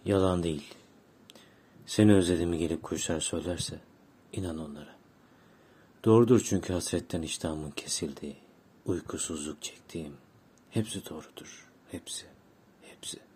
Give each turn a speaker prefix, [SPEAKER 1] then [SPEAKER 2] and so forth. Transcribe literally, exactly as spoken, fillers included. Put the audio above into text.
[SPEAKER 1] Yalan değil. Seni özlediğimi gelip kuşlar söylerse inan onlara. Doğrudur çünkü hasretten iştahımın kesildiği, uykusuzluk çektiğim. Hepsi doğrudur. Hepsi. Hepsi.